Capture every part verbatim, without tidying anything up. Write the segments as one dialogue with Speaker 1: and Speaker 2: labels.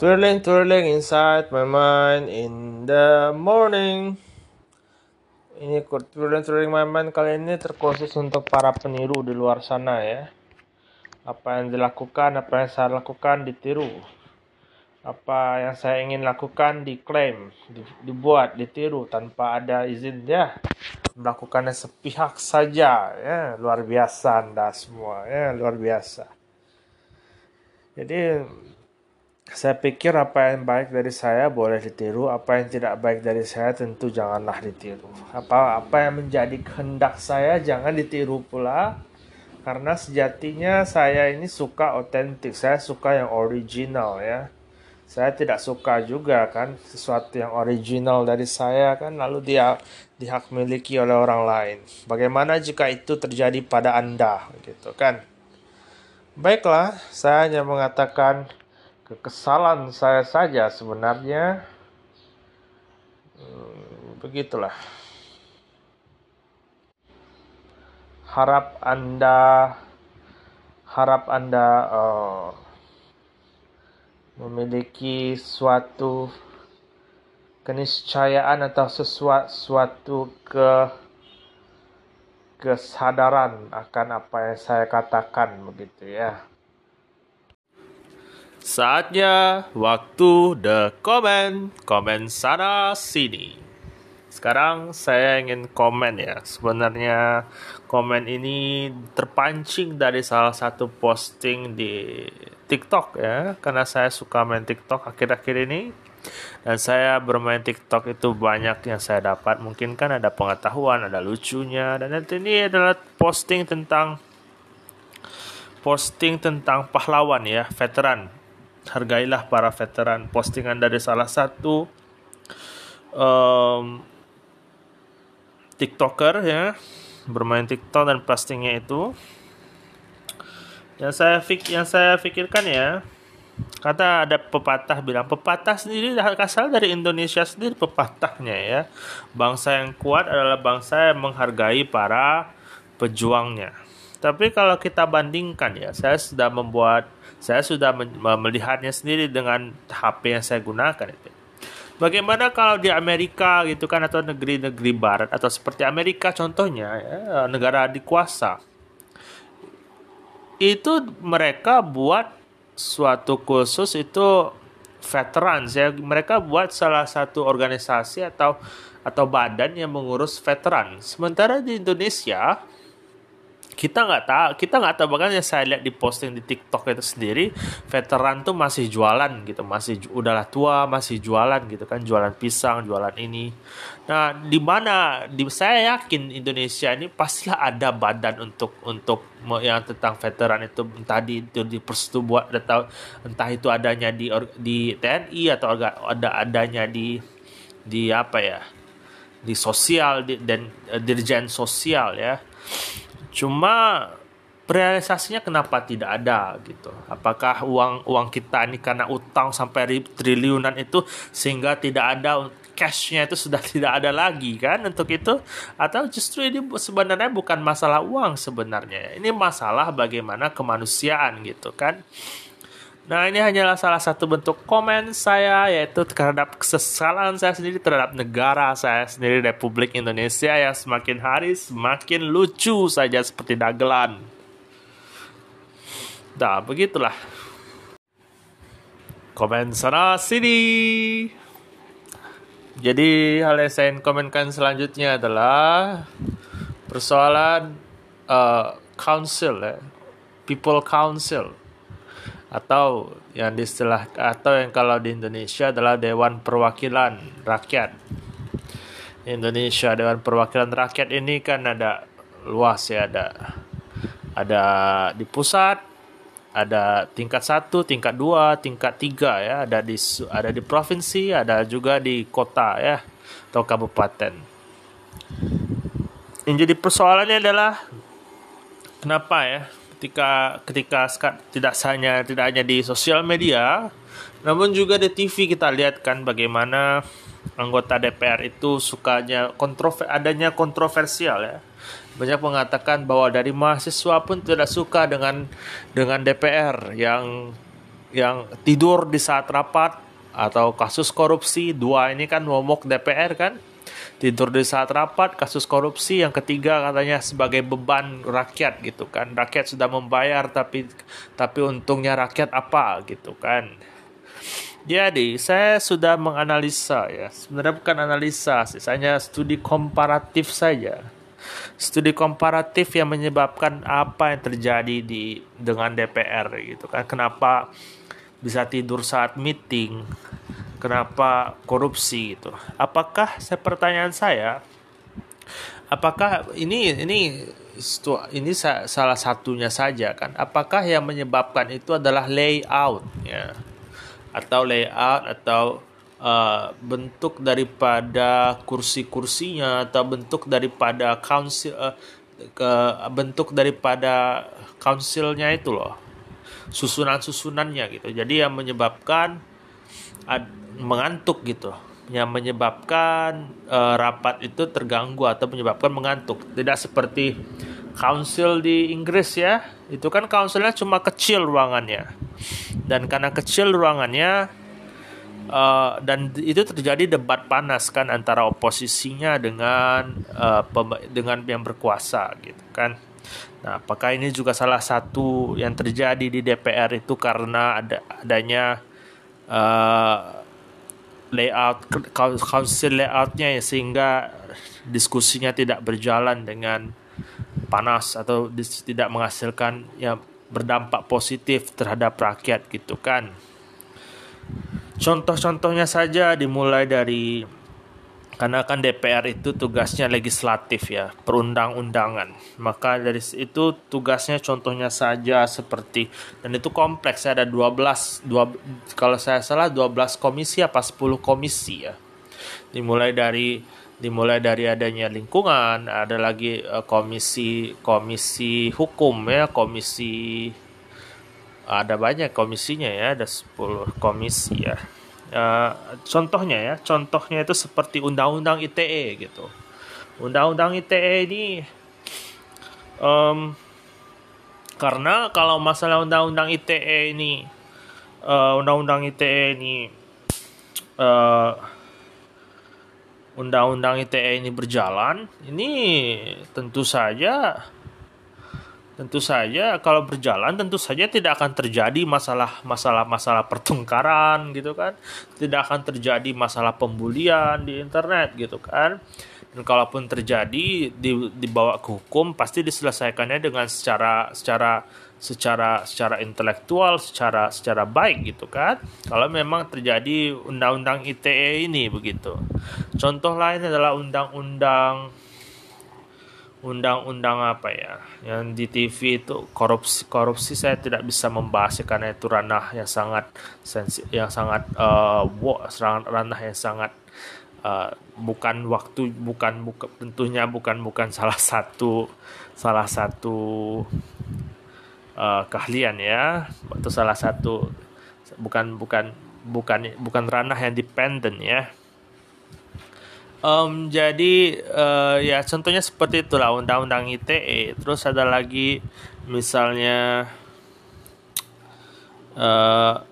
Speaker 1: Twirling, twirling inside my mind in the morning. Ini twirling, twirling my mind kali ini terkhusus untuk para peniru di luar sana ya. Apa yang dilakukan, apa yang saya lakukan ditiru. Apa yang saya ingin lakukan diklaim, dibuat, ditiru tanpa ada izin ya. Melakukannya sepihak saja ya. Luar biasa Anda semua ya, luar biasa. Jadi saya pikir apa yang baik dari saya boleh ditiru, apa yang tidak baik dari saya tentu janganlah ditiru. Apa apa yang menjadi kehendak saya jangan ditiru pula. Karena sejatinya saya ini suka otentik, saya suka yang original ya. Saya tidak suka juga kan sesuatu yang original dari saya kan lalu dia dihak miliki oleh orang lain. Bagaimana jika itu terjadi pada Anda gitu kan? Baiklah, saya hanya mengatakan kekesalan saya saja sebenarnya. Hmm, begitulah. Harap Anda harap Anda uh, memiliki suatu keniscayaan atau sesuatu ke kesadaran akan apa yang saya katakan begitu ya. Saatnya waktu the comment, komen sana sini. Sekarang saya ingin komen ya. Sebenarnya komen ini terpancing dari salah satu posting di TikTok ya. Karena saya suka main TikTok akhir-akhir ini. Dan saya bermain TikTok itu banyak yang saya dapat. Mungkin kan ada pengetahuan, ada lucunya. Dan nanti ini adalah posting tentang Posting tentang pahlawan ya, veteran. Hargailah para veteran. Postingan dari salah satu um, TikToker ya, bermain TikTok dan postingnya itu. Yang saya fik yang saya pikirkan ya, kata ada pepatah bilang, pepatah sendiri asal dari Indonesia sendiri pepatahnya ya. Bangsa yang kuat adalah bangsa yang menghargai para pejuangnya. Tapi kalau kita bandingkan ya, saya sudah membuat, saya sudah melihatnya sendiri dengan H P yang saya gunakan itu. Bagaimana kalau di Amerika gitu kan, atau negeri-negeri barat, atau seperti Amerika contohnya ya, negara dikuasa. Itu mereka buat suatu khusus itu veterans ya. Mereka buat salah satu organisasi atau atau badan yang mengurus veteran. Sementara di Indonesia kita nggak tahu, kita nggak tahu bahkan yang saya lihat di posting di TikTok itu sendiri, veteran tuh masih jualan gitu, masih udahlah tua masih jualan gitu kan, jualan pisang, jualan ini. Nah, di mana di saya yakin Indonesia ini pastilah ada badan untuk untuk yang tentang veteran itu, entah di di persetubuhan atau entah itu adanya di di T N I atau ada adanya di di apa ya, di sosial di, dan uh, dirjen sosial ya. Cuma realisasinya kenapa tidak ada gitu? Apakah uang uang kita ini karena utang sampai triliunan itu sehingga tidak ada cashnya itu sudah tidak ada lagi kan untuk itu? Atau justru ini sebenarnya bukan masalah uang sebenarnya? Ini masalah bagaimana kemanusiaan gitu kan? Nah, ini hanyalah salah satu bentuk komen saya, yaitu terhadap kesesalan saya sendiri terhadap negara saya sendiri, Republik Indonesia, yang semakin hari semakin lucu saja seperti dagelan. Nah, begitulah. Komen sana sini. Jadi, hal yang saya ingin komenkan selanjutnya adalah persoalan uh, council ya, people council. Atau yang diistilah atau yang kalau di Indonesia adalah Dewan Perwakilan Rakyat. Indonesia Dewan Perwakilan Rakyat ini kan ada luas ya, ada ada di pusat, ada tingkat satu, tingkat dua, tingkat tiga ya, ada di ada di provinsi, ada juga di kota ya atau kabupaten. Yang jadi persoalannya adalah kenapa ya? Ketika ketika tidak hanya tidak hanya di sosial media, namun juga di T V kita lihat kan bagaimana anggota D P R itu sukanya kontrover adanya kontroversial ya. Banyak mengatakan bahwa dari mahasiswa pun tidak suka dengan dengan D P R yang yang tidur di saat rapat, atau kasus korupsi. Dua ini kan momok D P R kan, tidur di saat rapat, kasus korupsi. Yang ketiga katanya sebagai beban rakyat gitu kan, rakyat sudah membayar tapi tapi untungnya rakyat apa gitu kan. Jadi saya sudah menganalisa ya, sebenarnya bukan analisa sih, hanya studi komparatif saja. Studi komparatif yang menyebabkan apa yang terjadi di dengan D P R gitu kan. Kenapa bisa tidur saat meeting? Kenapa korupsi gitu? Apakah saya pertanyaan saya, apakah ini ini ini salah satunya saja kan? Apakah yang menyebabkan itu adalah layout ya? Atau layout atau uh, bentuk daripada kursi-kursinya, atau bentuk daripada council uh, ke bentuk daripada councilnya itu loh, susunan-susunannya gitu. Jadi yang menyebabkan ad, mengantuk gitu, yang menyebabkan uh, rapat itu terganggu atau menyebabkan mengantuk. Tidak seperti council di Inggris ya, itu kan councilnya cuma kecil ruangannya, dan karena kecil ruangannya uh, dan itu terjadi debat panas kan antara oposisinya dengan uh, pem- dengan yang berkuasa gitu kan. Nah, apakah ini juga salah satu yang terjadi di D P R itu karena ada adanya uh, layout council layoutnya ya, sehingga diskusinya tidak berjalan dengan panas atau dis, tidak menghasilkan yang berdampak positif terhadap rakyat gitu kan. Contoh-contohnya saja dimulai dari, karena kan D P R itu tugasnya legislatif ya, perundang-undangan. Maka dari itu tugasnya contohnya saja seperti, dan itu kompleks, ada dua belas dua, kalau saya salah dua belas komisi apa sepuluh komisi ya. Dimulai dari dimulai dari adanya lingkungan, ada lagi uh, komisi komisi hukum ya, komisi, ada banyak komisinya ya, ada sepuluh komisi ya. Uh, contohnya ya, contohnya itu seperti undang-undang I T E gitu. Undang-undang I T E ini um, karena kalau masalah undang-undang I T E ini uh, undang-undang I T E ini uh, undang-undang I T E ini berjalan, ini tentu saja tentu saja kalau berjalan tentu saja tidak akan terjadi masalah masalah masalah pertengkaran gitu kan, tidak akan terjadi masalah pembulian di internet gitu kan. Dan kalaupun terjadi di, dibawa ke hukum, pasti diselesaikannya dengan secara secara secara secara intelektual, secara secara baik gitu kan. Kalau memang terjadi undang-undang I T E ini begitu. Contoh lain adalah undang-undang undang-undang apa ya, yang di T V itu korupsi korupsi saya tidak bisa membahasnya karena itu ranah yang sangat sensitif, yang sangat uh, ranah yang sangat uh, bukan waktu bukan bukan tentunya bukan bukan salah satu salah satu uh, keahlian ya, atau salah satu bukan bukan bukan bukan ranah yang dependen ya. Um, jadi uh, ya contohnya seperti itulah undang-undang I T E. Terus ada lagi misalnya uh,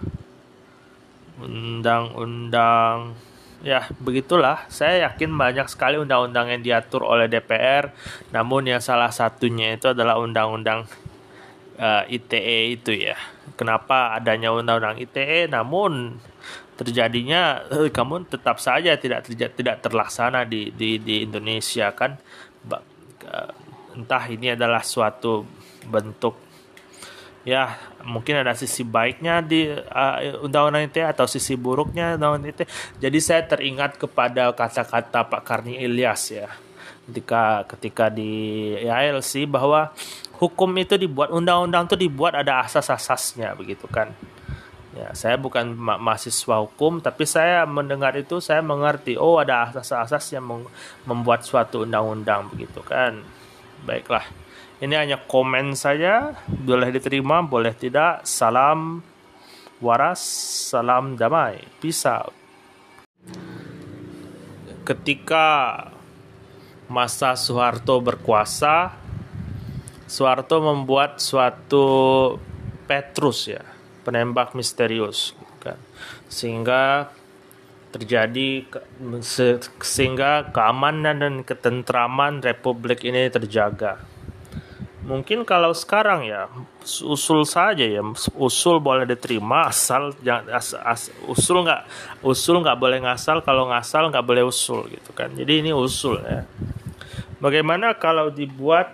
Speaker 1: undang-undang ya begitulah. Saya yakin banyak sekali undang-undang yang diatur oleh D P R. Namun yang salah satunya itu adalah undang-undang uh, I T E itu ya. Kenapa adanya undang-undang I T E? Namun terjadinya eh, kamu tetap saja tidak terjadi, tidak terlaksana di di di Indonesia kan. Entah ini adalah suatu bentuk ya, mungkin ada sisi baiknya di uh, undang-undang I T E atau sisi buruknya undang-undang I T E. Jadi saya teringat kepada kata-kata Pak Karni Ilyas ya, ketika ketika di I L C, bahwa hukum itu dibuat, undang-undang itu dibuat ada asas-asasnya begitu kan. Ya, saya bukan ma- mahasiswa hukum, tapi saya mendengar itu saya mengerti, oh ada asas-asas yang mem- membuat suatu undang-undang begitu kan. Baiklah, ini hanya komen saja, boleh diterima, boleh tidak. Salam waras, salam damai, peace out. Ketika masa Soeharto berkuasa, Soeharto membuat suatu Petrus ya. penembak misterius, gitu kan. Sehingga terjadi sehingga keamanan dan ketentraman republik ini terjaga. Mungkin kalau sekarang ya usul saja ya, usul boleh diterima asal jangan as, as, usul nggak usul nggak boleh ngasal, kalau ngasal nggak boleh usul, gitu kan. Jadi ini usul ya. Bagaimana kalau dibuat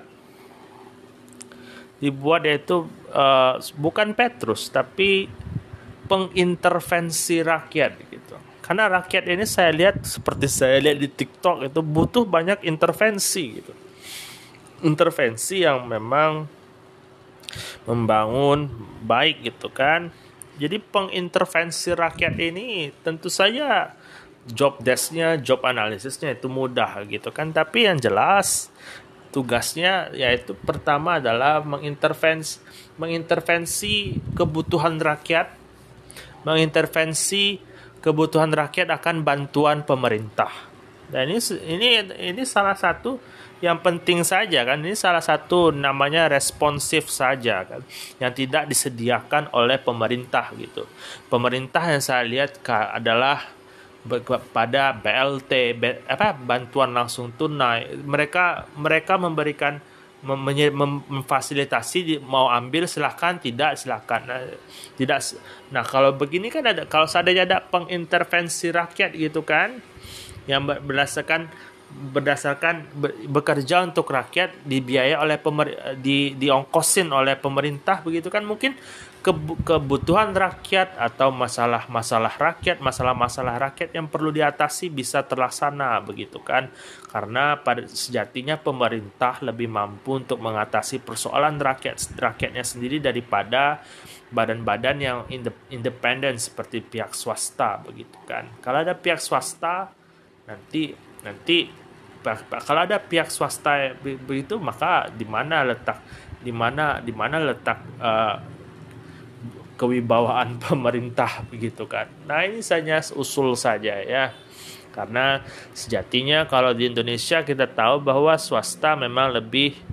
Speaker 1: dibuat yaitu uh, bukan Petrus tapi pengintervensi rakyat gitu. Karena rakyat ini saya lihat seperti saya lihat di TikTok itu butuh banyak intervensi gitu. Intervensi yang memang membangun baik gitu kan. Jadi pengintervensi rakyat ini tentu saja job desk-nya, job analisisnya itu mudah gitu kan. Tapi yang jelas tugasnya yaitu pertama adalah mengintervensi mengintervensi kebutuhan rakyat, mengintervensi kebutuhan rakyat akan bantuan pemerintah. Dan ini ini ini salah satu yang penting saja kan. Ini salah satu namanya responsif saja kan, yang tidak disediakan oleh pemerintah gitu. Pemerintah yang saya lihat adalah pada B L T, B, apa bantuan langsung tunai. Mereka mereka memberikan mem, mem, memfasilitasi, mau ambil silahkan, tidak silahkan. Nah, tidak. Nah kalau begini kan ada, kalau seandainya ada pengintervensi rakyat gitu kan, yang berdasarkan berdasarkan bekerja untuk rakyat, dibiayai oleh pemer, di diongkosin oleh pemerintah begitu kan, mungkin kebutuhan rakyat atau masalah-masalah rakyat, masalah-masalah rakyat yang perlu diatasi bisa terlaksana begitu kan. Karena pada sejatinya pemerintah lebih mampu untuk mengatasi persoalan rakyat rakyatnya sendiri daripada badan-badan yang independen seperti pihak swasta begitu kan. Kalau ada pihak swasta nanti nanti kalau ada pihak swasta begitu, maka di mana letak di mana di mana letak uh, kewibawaan pemerintah begitu kan. Nah ini hanya usul saja ya, karena sejatinya kalau di Indonesia kita tahu bahwa swasta memang lebih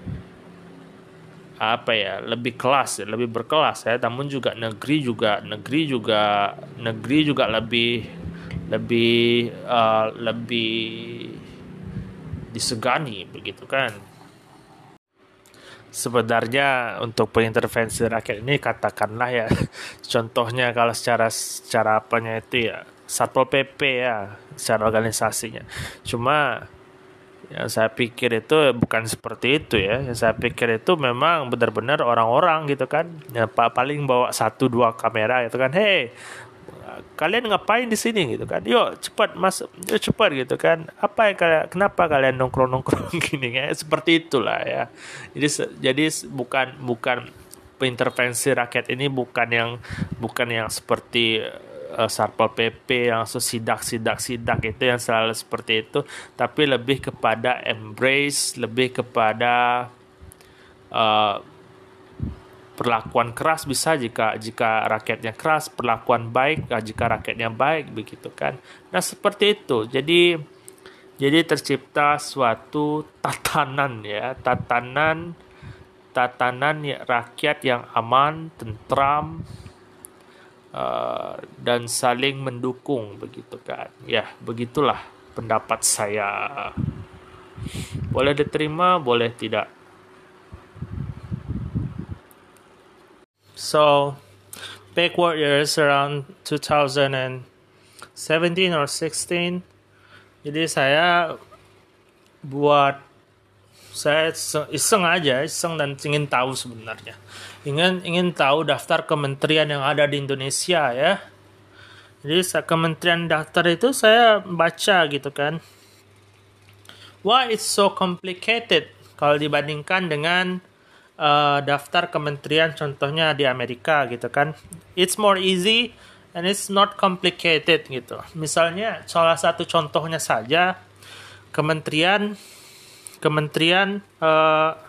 Speaker 1: apa ya lebih kelas, lebih berkelas ya. Namun juga negeri juga negeri juga negeri juga lebih lebih uh, lebih disegani begitu kan. Sebenarnya untuk pengintervensi rakyat ini katakanlah ya, contohnya kalau secara secara apanya itu ya Satpol P P ya, secara organisasinya. Cuma yang saya pikir itu bukan seperti itu ya. Yang saya pikir itu memang benar-benar orang-orang gitu kan, ya paling bawa satu dua kamera gitu kan. Hei, kalian ngapain di sini gitu kan? Yuk cepat masuk, yuk cepat gitu kan. Apa yang kalian, kenapa kalian nongkrong-nongkrong gini ya? Seperti itulah ya. Jadi jadi bukan bukan intervensi rakyat ini bukan yang bukan yang seperti uh, Satpol P P yang sidak-sidak-sidak itu yang selalu seperti itu, tapi lebih kepada embrace, lebih kepada uh, perlakuan keras bisa jika jika rakyatnya keras, perlakuan baik jika rakyatnya baik begitu kan. Nah seperti itu. Jadi jadi tercipta suatu tatanan ya, tatanan tatanan ya, rakyat yang aman, tentram uh, dan saling mendukung begitu kan. Ya begitulah pendapat saya. Boleh diterima, boleh tidak. So, backward years around two thousand seventeen or sixteen. Jadi saya buat, saya iseng aja, iseng dan ingin tahu sebenarnya. Ingin ingin tahu daftar kementerian yang ada di Indonesia ya. Jadi kementerian daftar itu saya baca gitu kan. Why it's so complicated kalau dibandingkan dengan Uh, daftar kementerian contohnya di Amerika gitu kan. It's more easy and it's not complicated gitu. Misalnya salah satu contohnya saja kementerian kementerian uh,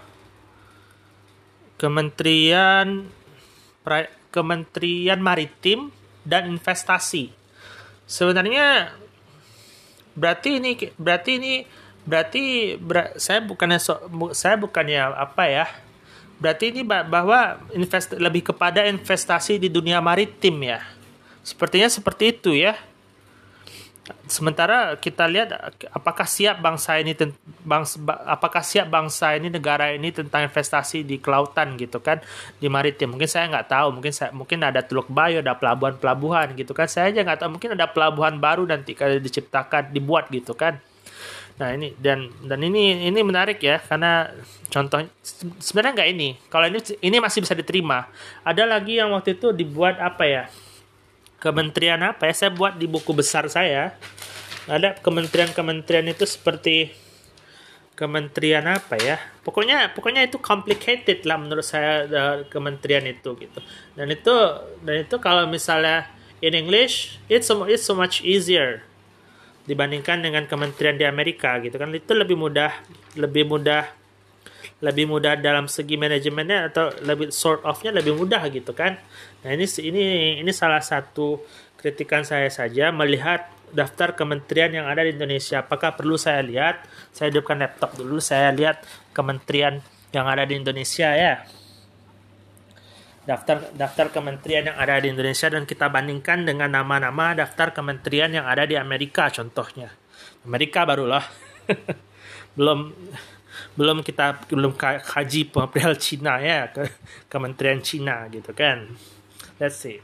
Speaker 1: kementerian kementerian maritim dan investasi. Sebenarnya berarti ini berarti ini berarti ber, saya bukannya so, saya bukannya apa ya Berarti ini bahwa invest lebih kepada investasi di dunia maritim ya. Sepertinya seperti itu ya. Sementara kita lihat apakah siap bangsa ini bangsa, apakah siap bangsa ini negara ini tentang investasi di kelautan gitu kan, di maritim. Mungkin saya nggak tahu, mungkin saya mungkin ada Teluk Bayo, ada pelabuhan-pelabuhan gitu kan. Saya aja nggak tahu, mungkin ada pelabuhan baru nanti kalau diciptakan, dibuat gitu kan. Nah ini dan dan ini ini menarik ya, karena contoh sebenarnya nggak ini. Kalau ini ini masih bisa diterima. Ada lagi yang waktu itu dibuat apa ya? Kementerian apa ya? Saya buat di buku besar saya. Ada kementerian-kementerian itu seperti kementerian apa ya? Pokoknya pokoknya itu complicated lah menurut saya, kementerian itu gitu. Dan itu dan itu kalau misalnya in English it's so, it's so much easier dibandingkan dengan kementerian di Amerika gitu kan. Itu lebih mudah, lebih mudah lebih mudah dalam segi manajemennya, atau lebih sort of-nya lebih mudah gitu kan. Nah, ini ini ini salah satu kritikan saya saja melihat daftar kementerian yang ada di Indonesia. Apakah perlu saya lihat? Saya hidupkan laptop dulu, saya lihat kementerian yang ada di Indonesia ya. Daftar daftar kementerian yang ada di Indonesia dan kita bandingkan dengan nama-nama daftar kementerian yang ada di Amerika contohnya. Amerika barulah. belum belum kita belum kaji perihal Cina ya, ke kementerian Cina gitu kan. Let's see.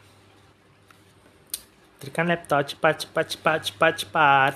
Speaker 1: Tekan laptop cepat cepat cepat cepat cepat.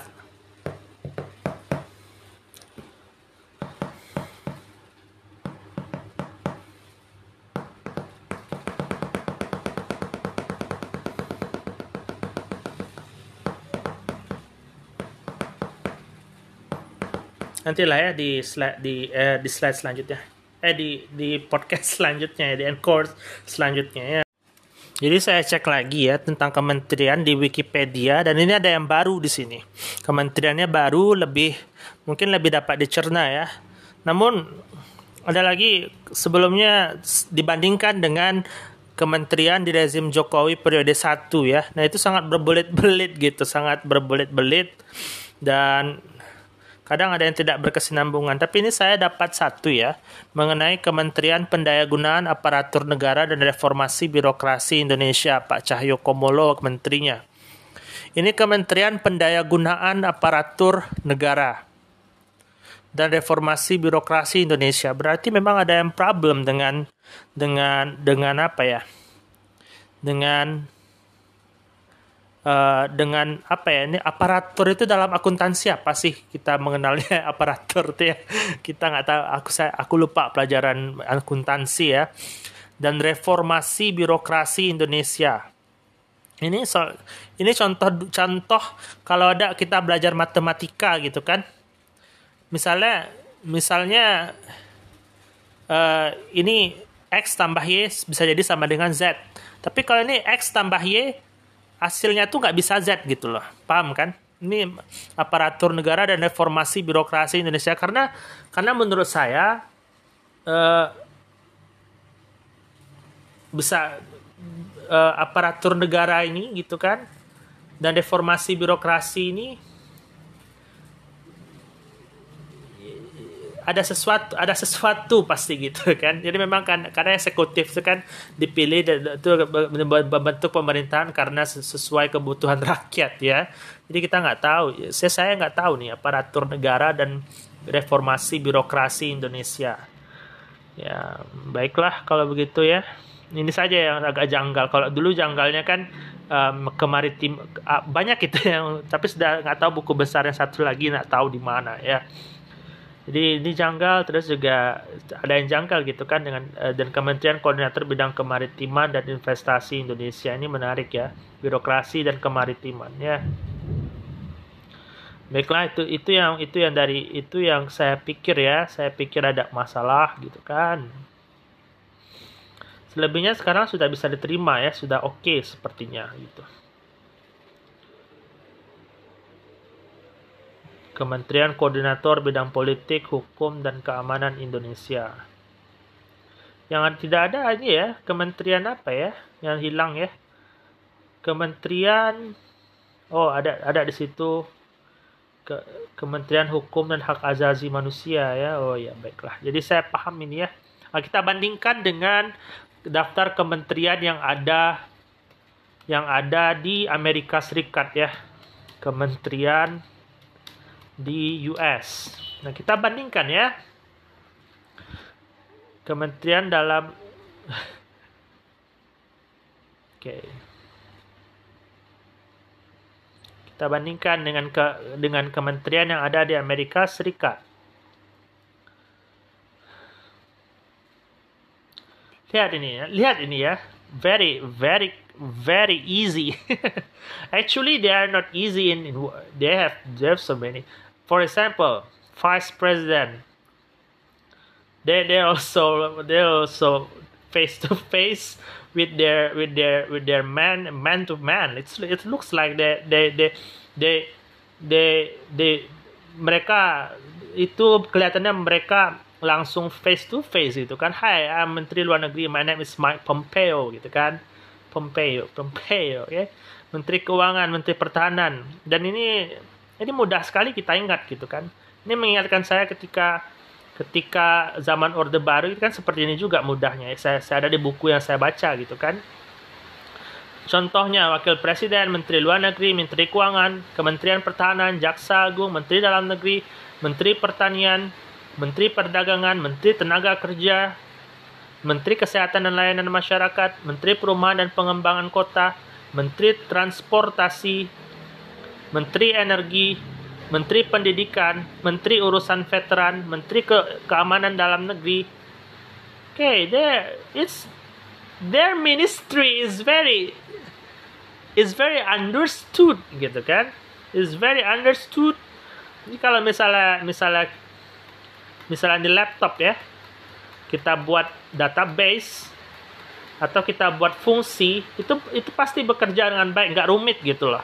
Speaker 1: Nantilah ya di slide di eh, di slide selanjutnya, eh di di podcast selanjutnya, di encore selanjutnya ya. Jadi saya cek lagi ya tentang kementerian di Wikipedia, dan ini ada yang baru di sini. Kementeriannya baru, lebih mungkin lebih dapat dicerna ya. Namun ada lagi sebelumnya dibandingkan dengan kementerian di rezim Jokowi periode satu ya. Nah itu sangat berbelit-belit gitu, sangat berbelit-belit dan kadang ada yang tidak berkesinambungan. Tapi ini saya dapat satu ya, mengenai Kementerian Pendayagunaan Aparatur Negara dan Reformasi Birokrasi Indonesia, Pak Cahyokumolo menterinya. Ini Kementerian Pendayagunaan Aparatur Negara dan Reformasi Birokrasi Indonesia. Berarti memang ada yang problem dengan dengan dengan apa ya? Dengan Uh, dengan apa ya, ini aparatur itu dalam akuntansi apa sih kita mengenalnya aparatur itu ya, kita nggak tahu, aku saya aku lupa pelajaran akuntansi ya. Dan Reformasi Birokrasi Indonesia, ini so, ini contoh contoh kalau ada kita belajar matematika gitu kan, misalnya misalnya uh, ini X tambah Y bisa jadi sama dengan Z, tapi kalau ini X tambah Y hasilnya tuh nggak bisa Z gitu loh, paham kan? Ini aparatur negara dan reformasi birokrasi Indonesia, karena karena menurut saya eh, bisa eh, aparatur negara ini gitu kan dan reformasi birokrasi ini ada sesuatu ada sesuatu pasti gitu kan. Jadi memang kan karena eksekutif itu kan dipilih itu membentuk pemerintahan karena sesuai kebutuhan rakyat ya. Jadi kita nggak tahu, saya saya nggak tahu nih aparatur negara dan reformasi birokrasi Indonesia. Ya baiklah kalau begitu ya. Ini saja yang agak janggal. Kalau dulu janggalnya kan um, kemaritim uh, banyak itu yang, tapi sudah nggak tahu buku besar yang satu lagi nggak tahu di mana ya. Jadi ini janggal, terus juga ada yang janggal gitu kan dengan uh, dan Kementerian Koordinator Bidang Kemaritiman dan Investasi Indonesia, ini menarik ya, birokrasi dan kemaritiman ya. Baiklah, itu itu yang itu yang dari itu yang saya pikir ya, saya pikir ada masalah gitu kan. Selebihnya sekarang sudah bisa diterima ya, sudah oke okay sepertinya gitu. Kementerian Koordinator Bidang Politik, Hukum, dan Keamanan Indonesia. Yang tidak ada ini ya, kementerian apa ya, yang hilang ya? Kementerian, oh ada ada di situ, Ke, Kementerian Hukum dan Hak Asasi Manusia ya. Oh ya baiklah. Jadi saya paham ini ya, Nah, kita bandingkan dengan daftar kementerian yang ada yang ada di Amerika Serikat ya. Kementerian di U S. Nah, kita bandingkan ya. Kementerian dalam Oke. Okay. Kita bandingkan dengan ke, dengan kementerian yang ada di Amerika Serikat. Lihat ini ya, lihat ini ya. Very, very, very easy. Actually, they are not easy in, in they have they have so many. For example, Vice President. They they also they also face to face with their with their with their man man to man. It's it looks like they they they they they, they mereka itu kelihatannya mereka langsung face to face gitu kan. Hai, I'm Menteri Luar Negeri, my name is Mike Pompeo gitu kan. Pompeo, Pompeo ya. Okay? Menteri Keuangan, Menteri Pertahanan. Dan ini ini mudah sekali kita ingat gitu kan. Ini mengingatkan saya ketika ketika zaman Orde Baru itu kan seperti ini juga mudahnya. Saya, saya ada di buku yang saya baca gitu kan. Contohnya Wakil Presiden, Menteri Luar Negeri, Menteri Keuangan, Kementerian Pertahanan, Jaksa Agung, Menteri Dalam Negeri, Menteri Pertanian, Menteri Perdagangan, Menteri Tenaga Kerja, Menteri Kesehatan dan Layanan Masyarakat, Menteri Perumahan dan Pengembangan Kota, Menteri Transportasi, Menteri Energi, Menteri Pendidikan, Menteri Urusan Veteran, Menteri Ke Keamanan Dalam Negeri. Okay, there it's their ministry is very is very understood gitu kan? Is very understood. Jadi kalau misalnya misalnya misalnya di laptop ya, kita buat database atau kita buat fungsi, itu itu pasti bekerja dengan baik, nggak rumit gitu loh.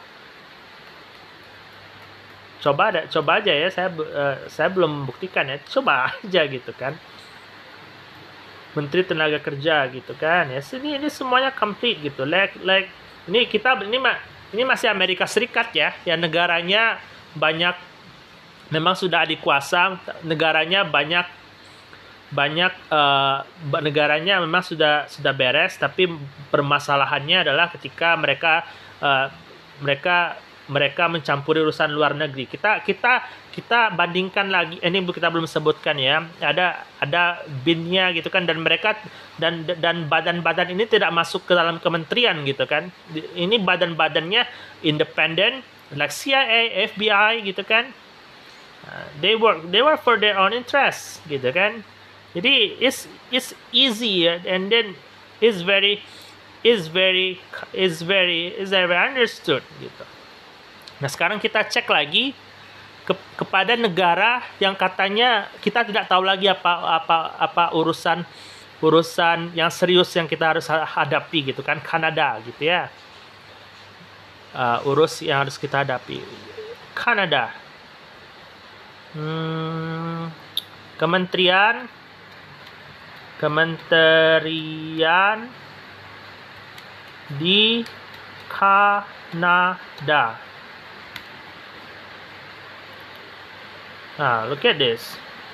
Speaker 1: Coba ada, coba aja ya, saya uh, saya belum membuktikan ya, coba aja gitu kan. Menteri Tenaga Kerja gitu kan ya, sini ini semuanya complete gitu. Like like ini kita ini ini masih Amerika Serikat ya, yang negaranya banyak memang sudah adik kuasa, negaranya banyak banyak uh, negaranya memang sudah sudah beres, tapi permasalahannya adalah ketika mereka uh, mereka mereka mencampuri urusan luar negeri. Kita kita kita bandingkan lagi, ini kita belum sebutkan ya. Ada ada bin-nya gitu kan, dan mereka dan dan badan-badan ini tidak masuk ke dalam kementerian gitu kan. Ini badan-badannya independen, like C I A, F B I gitu kan. Uh, they work they work for their own interests gitu kan. Jadi it's it's easy and then is very is very is very is very understood gitu. Nah, sekarang kita cek lagi ke, kepada negara yang katanya kita tidak tahu lagi apa apa apa urusan urusan yang serius yang kita harus hadapi gitu kan, Kanada gitu ya. Uh, urus yang harus kita hadapi. Kanada. Hmm, kementerian kementerian di Kanada. Nah, look at this.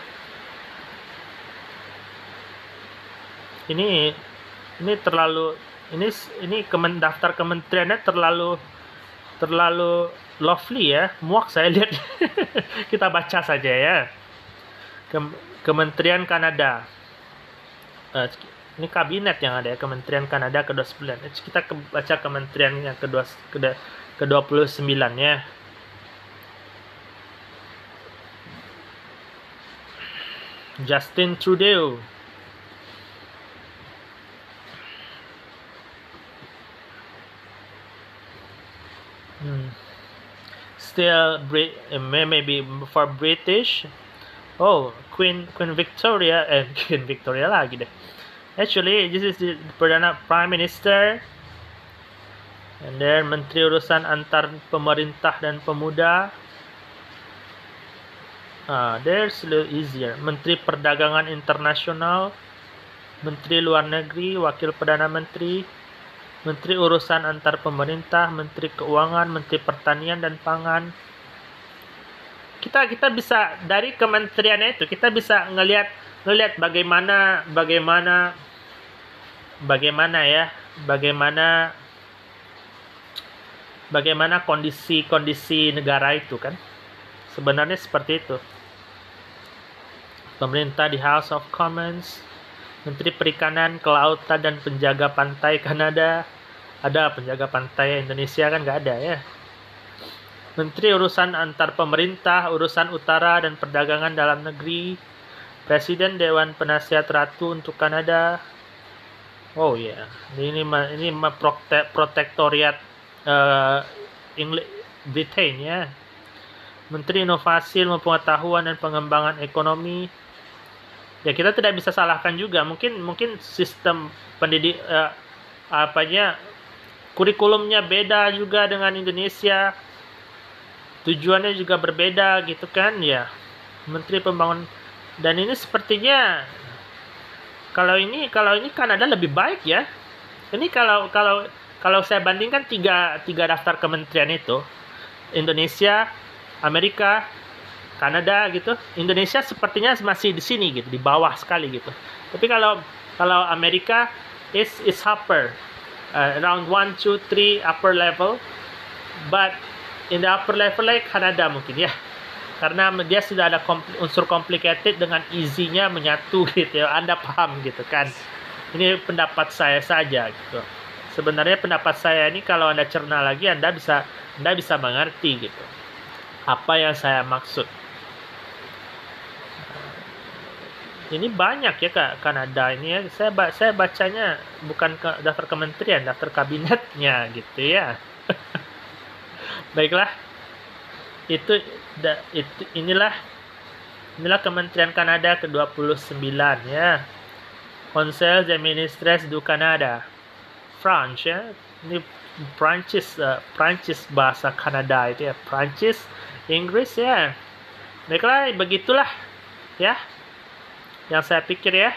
Speaker 1: Ini ini terlalu ini ini kemen, daftar kementeriannya terlalu terlalu lovely ya. Muak saya lihat. Kita baca saja ya. Kem, Kementerian Kanada. Uh, ini kabinet yang ada ya, Kementerian Kanada ke dua puluh sembilan. Kita ke, baca kementerian yang ke dua puluh sembilan ya. Justin Trudeau. Hmm. Still, Brit maybe for British. Oh, Queen Queen Victoria and eh, Queen Victoria lagi deh. Actually, this is the Perdana Prime Minister. And then Menteri Urusan Antar Pemerintah dan Pemuda. Ah, there's a little easier. Menteri Perdagangan Internasional, Menteri Luar Negeri, Wakil Perdana Menteri, Menteri Urusan Antar Pemerintah, Menteri Keuangan, Menteri Pertanian dan Pangan. Kita kita bisa dari kementeriannya itu kita bisa ngelihat Lo lihat bagaimana bagaimana bagaimana ya, bagaimana bagaimana kondisi-kondisi negara itu kan. Sebenarnya seperti itu. Pemerintah di House of Commons, Menteri Perikanan, Kelautan dan Penjaga Pantai Kanada. Ada penjaga pantai Indonesia kan nggak ada ya. Menteri Urusan Antar Pemerintah, Urusan Utara dan Perdagangan Dalam Negeri, Presiden Dewan Penasihat Ratu untuk Kanada. Oh ya, yeah. ini ini prote protektoriat uh, English Britain ya. Menteri Inovasi, Ilmu Pengetahuan dan Pengembangan Ekonomi. Ya kita tidak bisa salahkan juga. Mungkin mungkin sistem pendidik uh, apanya kurikulumnya beda juga dengan Indonesia. Tujuannya juga berbeda gitu kan ya. Menteri Pembangunan, dan ini sepertinya kalau ini kalau ini Kanada lebih baik ya. Ini kalau kalau kalau saya bandingkan tiga tiga daftar kementerian itu, Indonesia, Amerika, Kanada gitu. Indonesia sepertinya masih di sini gitu, di bawah sekali gitu. Tapi kalau kalau Amerika is is upper, uh, around one, two, three upper level, but in the upper level like Kanada mungkin ya. Karena dia sudah ada kompl- unsur complicated dengan easy-nya menyatu gitu ya. Anda paham gitu kan. Ini pendapat saya saja gitu. Sebenarnya pendapat saya ini kalau Anda cerna lagi Anda bisa Anda bisa mengerti gitu. Apa yang saya maksud. Ini banyak ya Kak Kanada ini ya. Saya saya bacanya bukan ke daftar kementerian, daftar kabinetnya gitu ya. Baiklah. Itu Da, itu inilah inilah Kementerian Kanada ke dua puluh sembilan ya. Conseil des Ministres du Canada. French ya. Ini Prancis uh, Prancis bahasa Kanada itu ya. Prancis, Inggris ya. Baiklah, begitulah ya yang saya pikir ya.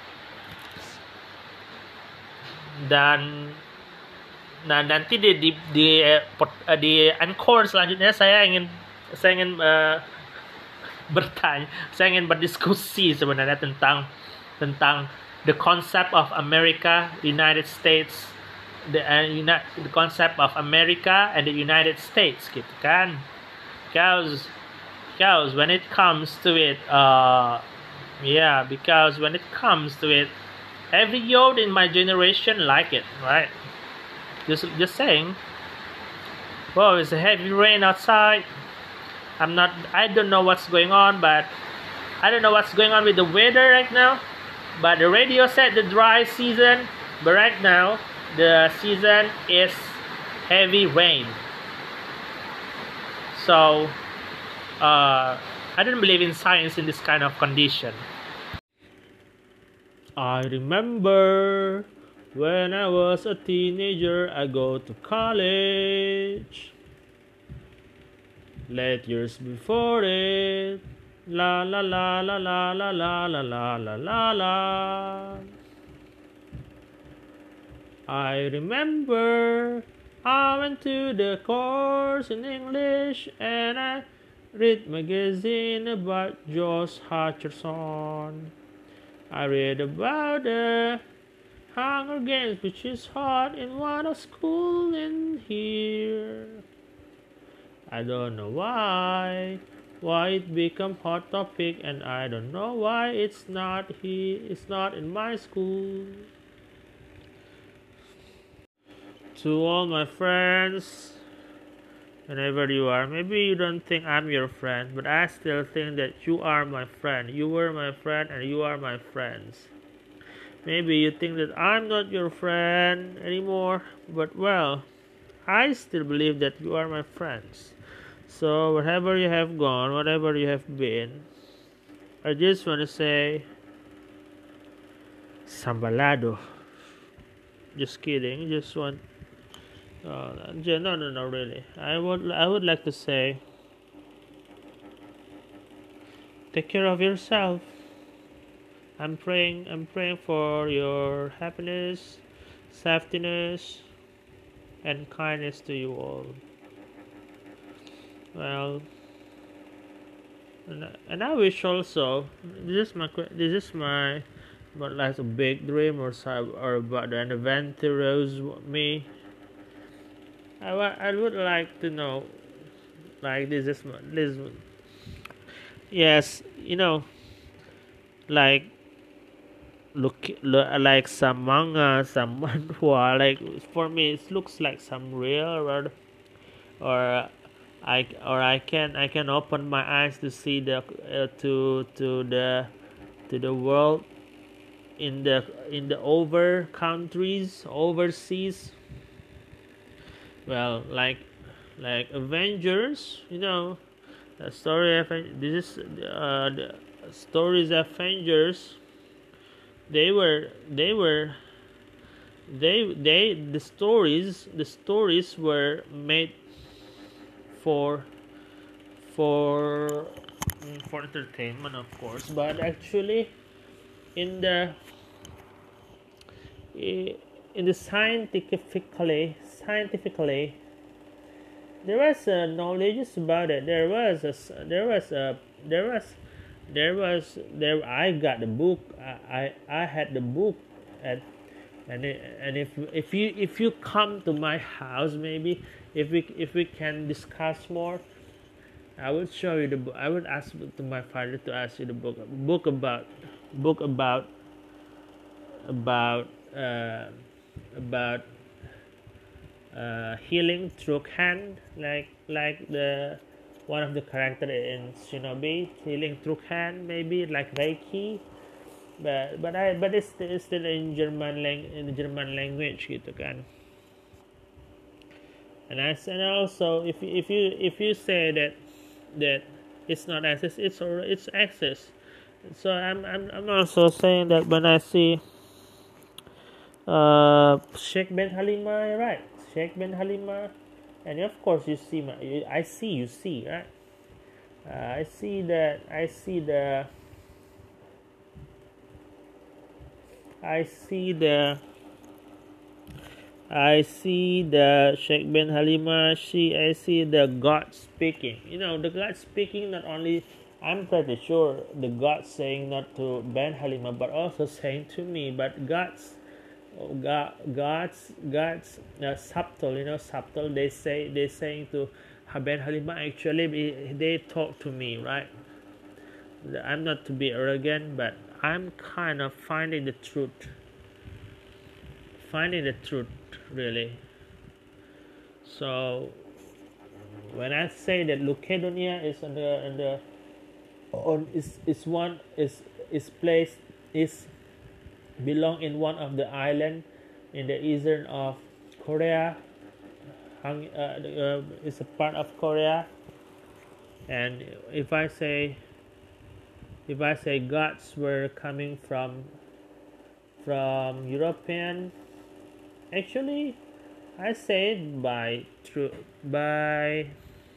Speaker 1: Dan nah nanti di di di, di, di encore selanjutnya saya ingin saya ingin uh, bertanya, saya ingin berdiskusi sebenarnya tentang tentang the concept of America, United States, the uh, uni- the concept of America and the United States gitu kan. Because because when it comes to it, uh, yeah, because when it comes to it, every youth in my generation like it, right? Just just saying. Well, it's a heavy rain outside. I'm not, I don't know what's going on, but I don't know what's going on with the weather right now. But the radio said the dry season, but right now the season is heavy rain. So, uh, I don't believe in science in this kind of condition. I remember when I was a teenager, I go to college. Late years before it, la la la la la la la la la la la la. I remember I went to the course in English and I read magazine about Josh Hutcherson. I read about the Hunger Games, which is hot in one of school in here. I don't know why, why it become hot topic, and I don't know why it's not he, it's not in my school. To all my friends, whenever you are, maybe you don't think I'm your friend, but I still think that you are my friend. You were my friend, and you are my friends. Maybe you think that I'm not your friend anymore, but well, I still believe that you are my friends. So wherever you have gone, whatever you have been, I just want to say, Sambalado. Just kidding. Just want. Uh, no, no, no, really. I would, I would like to say, take care of yourself. I'm praying. I'm praying for your happiness, safetyness, and kindness to you all. Well, And, and I wish also, this is my this is my but like a big dream or or about an adventurous me. I, I would like to know, like this is this yes, you know, like look, look like some manga, some manhwa. Like for me, it looks like some real or or I or I can I can open my eyes to see the uh, to to the to the world in the in the over countries overseas. Well, like like Avengers, you know, the story of this is uh, the stories of Avengers. They were they were they they the stories the stories were made for for mm, for entertainment, of course, but actually in the in the scientifically scientifically there was uh, knowledge about it. There was a there was a there was there was there I got the book. I I, I had the book, and and it, and if if you if you come to my house, maybe if we if we can discuss more, I would show you the book. I would ask to my father to ask you the book book about book about about uh, about uh, healing through hand, like like the one of the character in Shinobi, healing through hand, maybe like Reiki, but but I but it's, it's still in German lang in the German language gitu kan. And I and also if if you if you say that that it's not access, it's or it's access. So I'm I'm I'm also saying that when I see uh Sheikh Ben Halima, right? Sheikh Ben Halima, and of course you see my I see you see right. Uh, I see that I see the I see the I see the Sheikh Ben Halima. She I see the God speaking. You know the God speaking not only. I'm pretty sure the God saying not to Ben Halima, but also saying to me. But God's God, God's God's uh, subtle, you know, subtle. They say they saying to Ben Halima. Actually, they talk to me, right? I'm not to be arrogant, but I'm kind of finding the truth. Finding the truth, really. So when I say that Lucadonia is on the on the on is is one is is placed is belong in one of the island in the eastern of Korea. Hung, uh, uh, it's a part of Korea, and if I say if I say gods were coming from from European, actually I say it by true by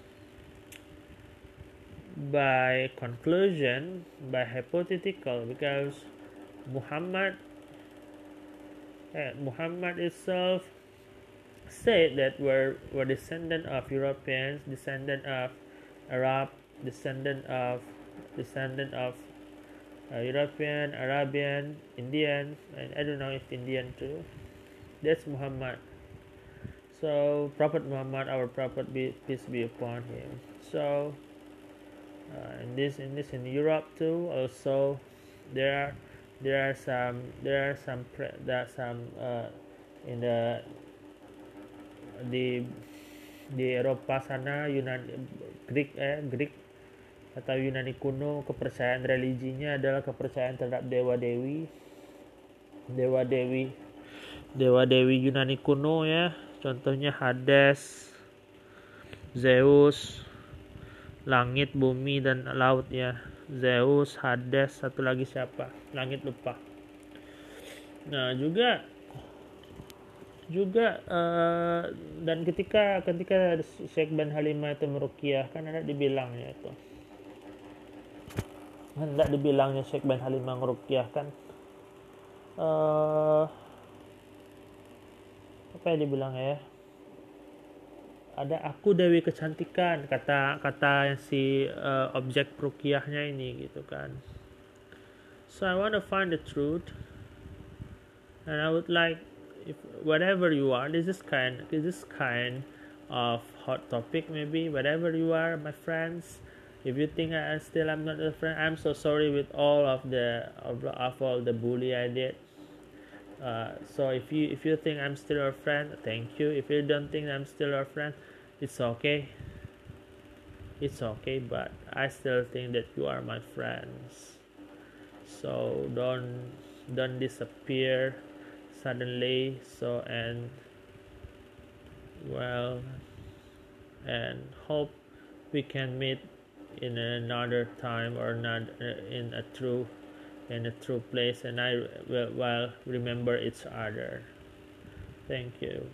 Speaker 1: by conclusion, by hypothetical, because Muhammad eh, Muhammad itself said that we're, we're descendant of Europeans, descendant of Arab, descendant of descendant of uh, European, Arabian, Indian, and I don't know if Indian too. That's Muhammad. So Prophet Muhammad, our Prophet, be, peace be upon him. So uh, in this in this in Europe too. Also, there are there are some there are some there are some uh, in the di di Eropa sana, Yunani, Greek eh Greek atau Yunani kuno, kepercayaan religinya adalah kepercayaan terhadap dewa dewi dewa dewi dewa dewi Yunani kuno ya, contohnya Hades, Zeus, langit, bumi, dan laut ya. Zeus, Hades, satu lagi siapa? Langit lupa. Nah juga juga uh, dan ketika ketika Syekh Ben Halimah itu meruqyah, kan ada dibilangnya itu hendak dibilangnya Syekh Ben Halimah meruqyah kan uh, apa ya dibilang ya ada aku Dewi Kecantikan, kata kata si uh, objek ruqyahnya ini gitu kan. So I want to find the truth, and I would like, if whatever you are, this is kind this is kind of hot topic, maybe whatever you are, my friends. If you think I still am not a friend, I'm so sorry with all of the of, of all the bully I did. Uh, so if you if you think I'm still your friend, thank you. If you don't think I'm still your friend, it's okay. It's okay, but I still think that you are my friends. So don't don't disappear suddenly. So and well, and hope we can meet in another time or not in a true in a true place, and I will well remember each other. Thank you.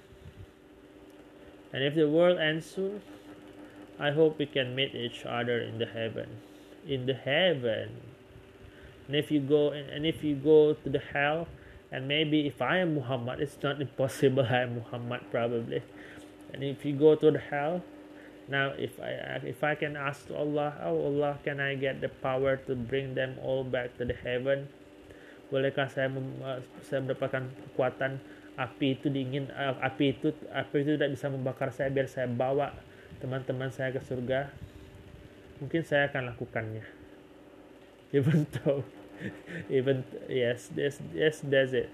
Speaker 1: And if the world ends soon, I hope we can meet each other in the heaven. In the heaven. And if you go and if you go to the hell, and maybe if I am Muhammad, it's not impossible I am Muhammad probably. And if you go to the hell, now if I if I can ask to Allah, oh Allah, can I get the power to bring them all back to the heaven? Bolehkah saya mem, saya mendapatkan kekuatan api itu dingin, uh, api itu api itu tidak bisa membakar saya, biar saya bawa teman-teman saya ke surga? Mungkin saya akan lakukannya. Even though, even yes, yes, yes, that's it.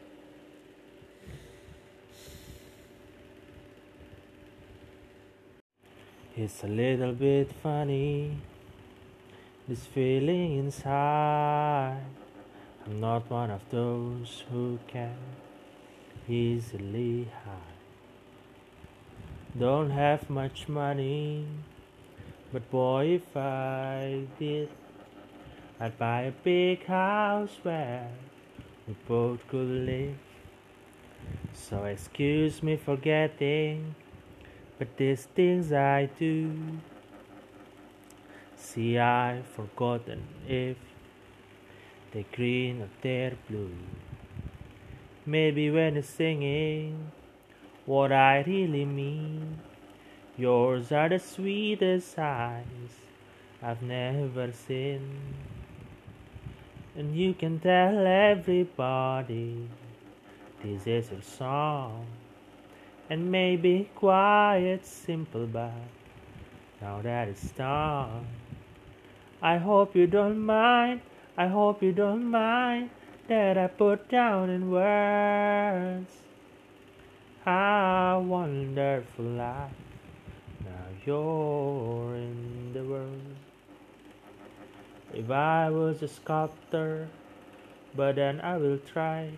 Speaker 1: It's a little bit funny, this feeling inside. I'm not one of those who can easily hide. Don't have much money, but boy, if I did, I'd buy a big house where we both could live. So excuse me for getting, but these things I do. See, I've forgotten if they're green or they're blue. Maybe when you're singing, what I really mean, yours are the sweetest eyes I've never seen. And you can tell everybody this is your song. And maybe quiet, simple, but now that it's done, I hope you don't mind, I hope you don't mind that I put down in words how wonderful life now you're in the world. If I was a sculptor, but then I will try.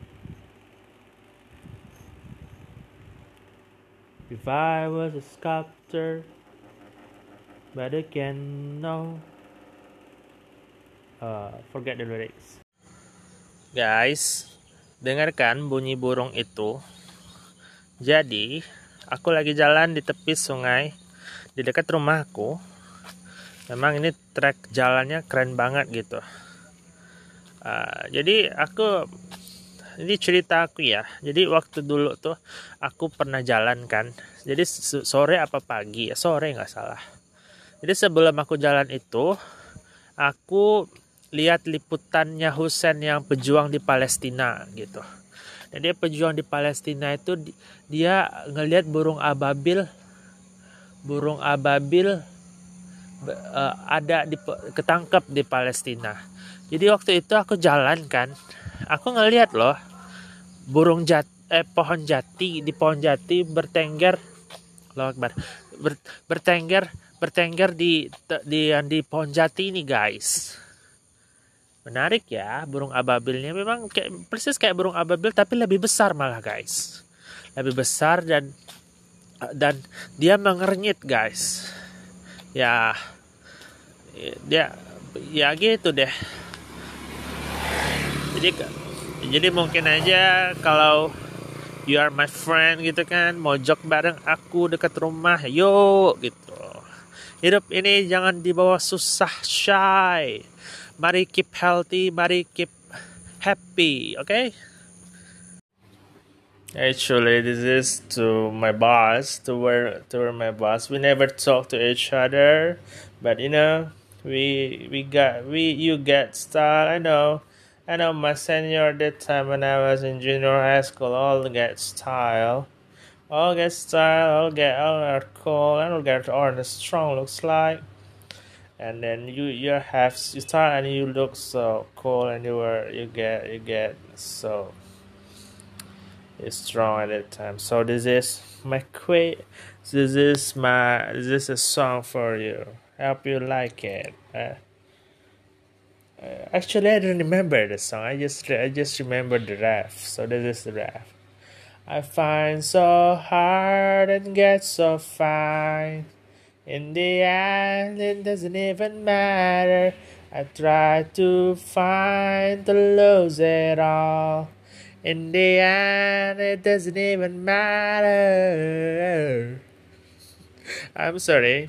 Speaker 1: If I was a sculptor, but again, no. Uh, forget the lyrics. Guys, dengarkan bunyi burung itu. Jadi, aku lagi jalan di tepi sungai di dekat rumahku. Memang ini trek jalannya keren banget gitu. Uh, jadi aku Ini cerita aku ya. Jadi waktu dulu tuh aku pernah jalan kan. Jadi sore apa pagi ya, sore nggak salah. Jadi sebelum aku jalan itu, aku lihat liputannya Husain yang pejuang di Palestina gitu. Dan dia pejuang di Palestina itu dia ngelihat burung ababil, burung ababil uh, ada di ketangkep di Palestina. Jadi waktu itu aku jalan kan, aku ngelihat loh burung jat eh pohon jati di pohon jati bertengger, Allahu Akbar, ber, bertengger bertengger di di di pohon jati ini guys. Menarik ya, burung ababilnya memang kayak persis kayak burung ababil tapi lebih besar malah guys, lebih besar dan dan dia mengernyit guys. Ya dia ya gitu deh. Jadi jadi mungkin aja kalau you are my friend gitu kan, mojok bareng aku dekat rumah, yuk gitu. Hidup ini jangan dibawa susah, shy. Mari keep healthy, mari keep happy, oke? Okay? Actually, this is to my boss, to where to where my boss. We never talk to each other, but you know, we we got we you get style. I know, I know. My senior at that time when I was in junior high school, all get style, all get style, all get all are cool, all get all the strong looks like. And then you you have you start and you look so cool and you were you get you get so strong at that time. So this is my quick. This is my. This is a song for you. Hope you like it. Uh, uh, actually, I don't remember the song. I just I just remember the ref. So this is the ref. I find so hard and get so fine. In the end, it doesn't even matter. I try to find to lose it all. In the end, it doesn't even matter. I'm sorry.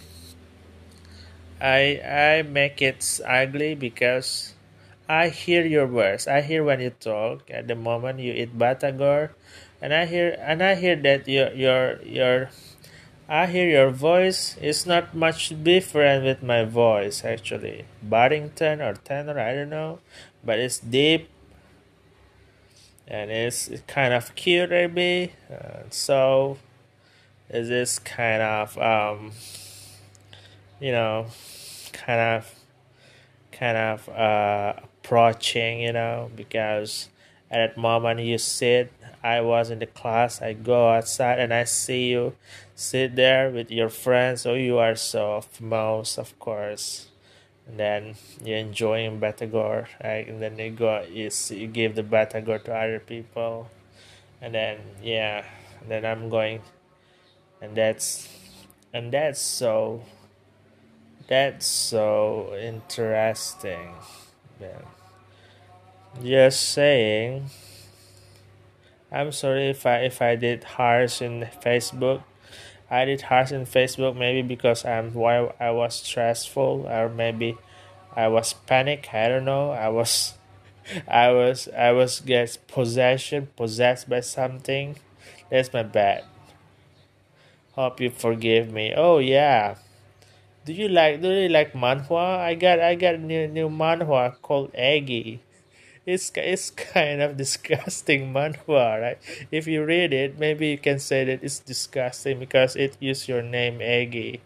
Speaker 1: I I make it ugly because I hear your words. I hear when you talk at the moment you eat batagor, and I hear and I hear that your your your I hear your voice is not much different with my voice actually. Barrington or tenor, I don't know, but it's deep and it's kind of cute maybe. Uh, so is this kind of um, you know, kind of kind of uh, approaching, you know, because at that moment you sit, I was in the class, I go outside and I see you sit there with your friends. So you are so famous, of course. And then you're enjoying Batagor, right? And then you go, you, see, you give the Batagor to other people. And then, yeah, and then I'm going, and that's, and that's so, that's so interesting. Yeah. Just saying. I'm sorry if I if I did harsh in Facebook. I did harsh in Facebook maybe because I'm why I was stressful or maybe I was panic. I don't know. I was I was I was get possession possessed by something. That's my bad. Hope you forgive me. Oh yeah. Do you like do you like manhwa? I got I got a new new manhwa called Eggy. It's it's kind of disgusting manhwa, right? If you read it, maybe you can say that it's disgusting because it used your name Eggy.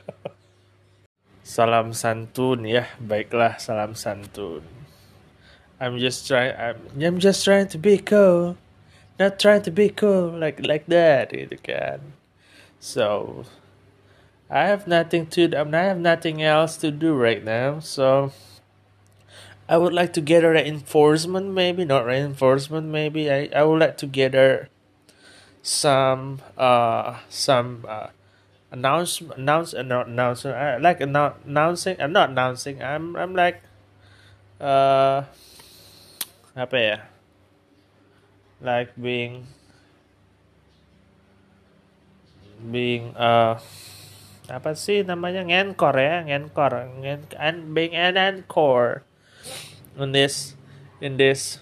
Speaker 1: Salam santun ya, baiklah salam santun. I'm just trying. I'm, I'm just trying to be cool, not trying to be cool like like that, gitu kan. So I have nothing to. I, mean, I have nothing else to do right now. So I would like to gather reinforcement, maybe not reinforcement. Maybe I I would like to gather some uh some uh announce announce uh, not announce uh, like annou- announcing. I'm not announcing. I'm I'm like uh apa ya? Like being being uh apa sih namanya ngenkor ya ngenkor ngen and being an encore in this in this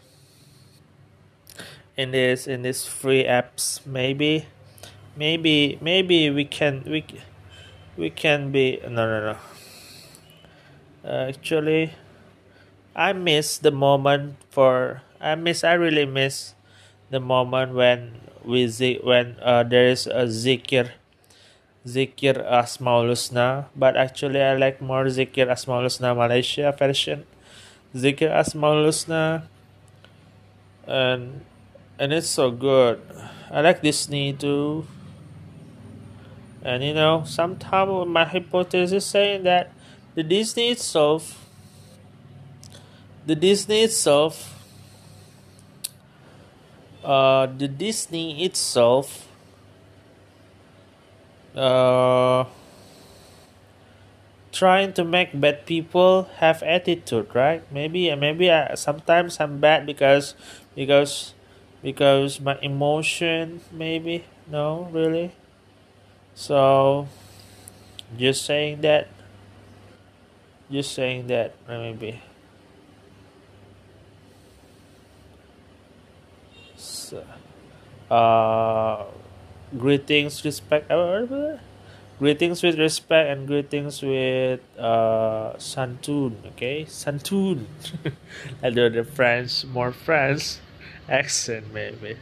Speaker 1: in this in this free apps maybe maybe maybe we can we we can be no no no uh, actually I miss the moment for I miss I really miss the moment when we zi- when uh, there is a zikir zikir Asmaul Husna, but actually I like more zikir Asmaul Husna Malaysia version. Zikir Asmaul Husna and and it's so good. I like Disney too. And you know, sometimes my hypothesis saying that the Disney itself, the Disney itself, uh, the Disney itself, uh, trying to make bad people have attitude, right? Maybe, maybe I, sometimes I'm bad because, because, because my emotion. Maybe no, really. So just saying that, just saying that, maybe. So, uh, greetings, respect, uh, greetings with respect, and greetings with uh, santun. Okay, santun. I do the French, more French accent maybe.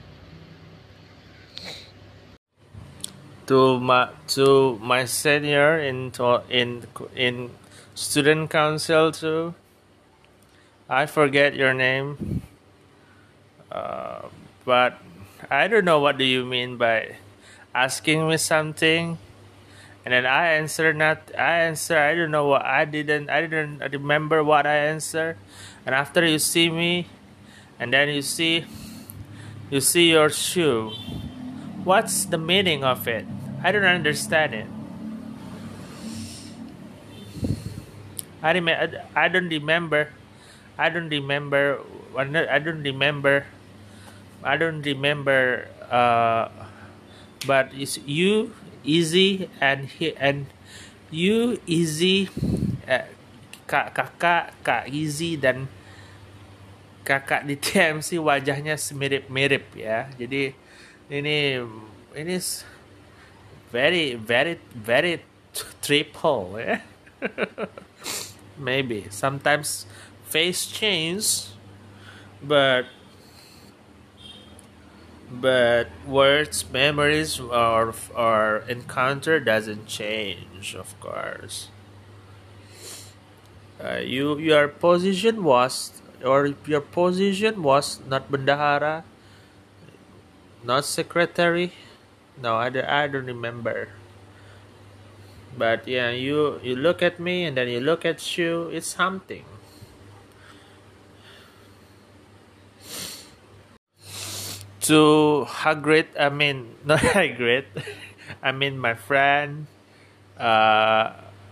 Speaker 1: To my to my senior in to- in in student council too. I forget your name, uh, but I don't know what do you mean by asking me something, and then I answer not. I answer. I don't know what I didn't. I didn't remember what I answered, and after you see me, and then you see you see your shoe. What's the meaning of it? I don't understand it. I rem- I don't remember. I don't remember. I don't remember. I don't remember. Uh, but it's you easy and he and you easy. Uh, kak kakak kak easy dan kakak di T M C wajahnya mirip-mirip ya. Jadi ini ini very very very triple ya. Maybe sometimes face change, but but words, memories, or or encounter doesn't change, of course. Uh, you your position was or your position was not bendahara, not secretary. No, I, don't- I don't remember. But yeah, you you look at me and then you look at you. It's something. To Hagrid, I mean not Hagrid. I mean my friend. Uh,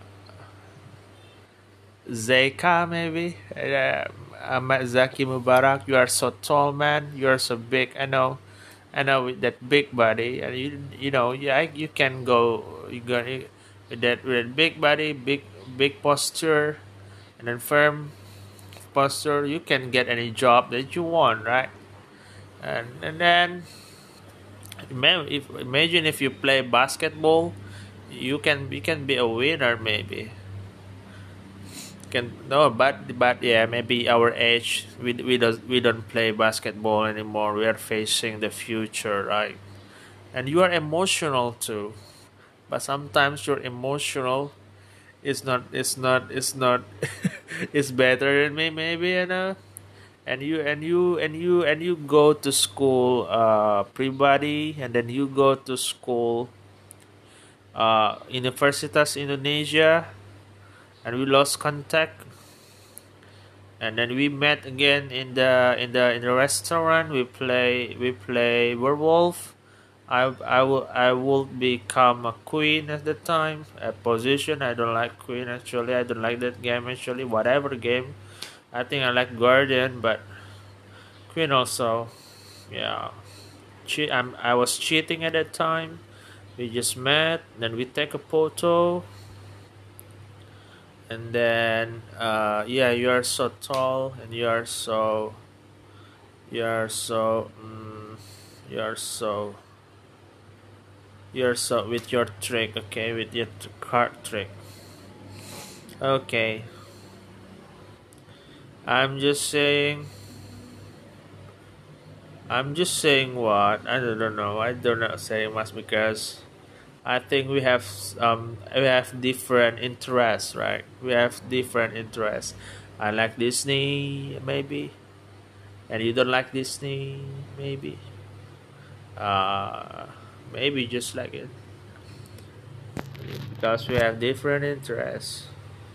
Speaker 1: Zeka maybe. Uh, Ahmad Zaki Mubarak. You are so tall, man. You are so big. I know. I know with that big body, and you you know yeah you can go you go with that with that big body, big big posture, and then firm posture. You can get any job that you want, right? And and then imagine if imagine if you play basketball, you can you can be a winner maybe. Can no but but yeah maybe our age we we don't we don't play basketball anymore. We are facing the future, right? And you are emotional too, but sometimes you're emotional is not it's not it's not it's better than me maybe, you know. And you and you and you and you go to school uh pre-body, and then you go to school uh Universitas Indonesia, and we lost contact, and then we met again in the in the in the restaurant. We play we play werewolf. I I will I will become a queen at the time. A position I don't like queen actually. I don't like that game actually. Whatever game, I think I like guardian, but queen also. Yeah, che- I'm I was cheating at that time. We just met, then we take a photo, and then uh yeah, you are so tall and you are so you are so mm, you are so you're so with your trick, okay, with your t- card trick. Okay, I'm just saying. I'm just saying what I don't know. I don't know say much because I think we have um we have different interests, right? We have different interests. I like Disney, maybe, and you don't like Disney, maybe. Uh, maybe just like it because we have different interests.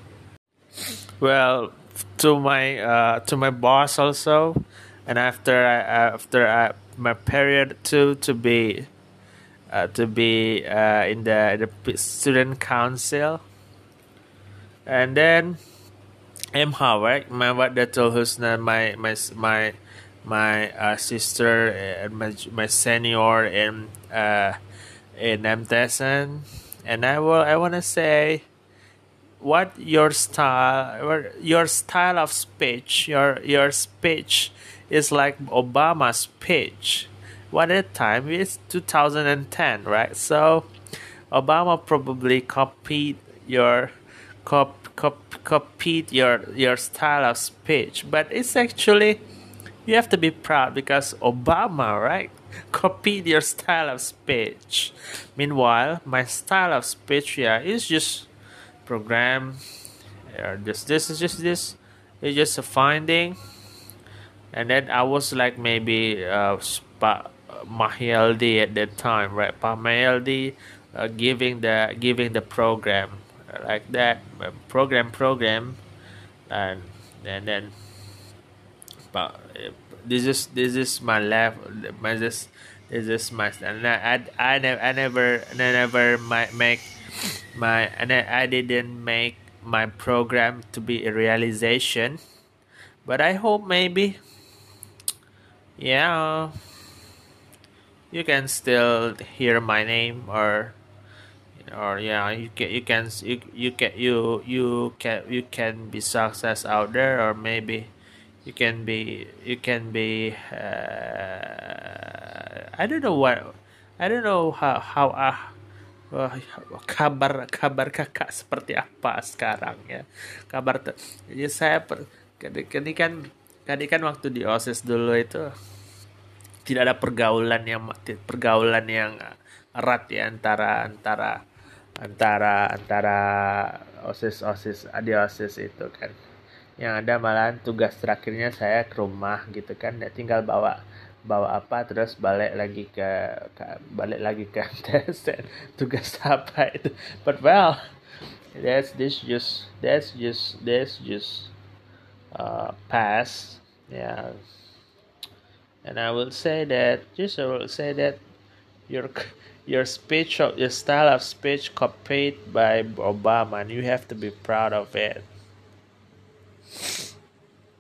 Speaker 1: Well, to my uh, to my boss also, and after I, after I, my period two to be uh, to be uh, in the the p- student council, and then M Howard, my what that told Husna, my my s- my my uh, sister and my my senior in uh, in M T S N, and I will I want to say what your style what your style of speech your your speech is like Obama's speech, one at a time. It's two thousand ten, right? So Obama probably copied your cop, cop, copied your your style of speech, but it's actually you have to be proud because Obama, right, copied your style of speech. Meanwhile, my style of speech, yeah, is just program. Yeah, just this is just this. It's just a finding, and then I was like maybe uh, Spa, Mahyaldi at that time, right? Pa Mahyaldi uh, giving the giving the program uh, like that uh, program program, and and then but uh, this is this is my left my this this is my and I I, I never I never I never my, make my and I, I didn't make my program to be a realization, but I hope maybe yeah you can still hear my name or or yeah you can you can you, you can you you can you can be success out there, or maybe you can be you can be uh, I don't know what I don't know how how uh, uh, kabar kabar kakak seperti apa sekarang ya kabar te- ya saya per, ini kan tadi kan waktu di OSIS dulu itu tidak ada pergaulan yang pergaulan yang erat ya antara antara antara antara osis osis di osis itu kan, yang ada malahan tugas terakhirnya saya ke rumah gitu kan, ya tinggal bawa bawa apa terus balik lagi ke, ke balik lagi ke tes tugas apa itu, but well that's this just that's just that's just uh, past yeah. And I will say that, just I will say that your your speech, your style of speech copied by Obama, and you have to be proud of it.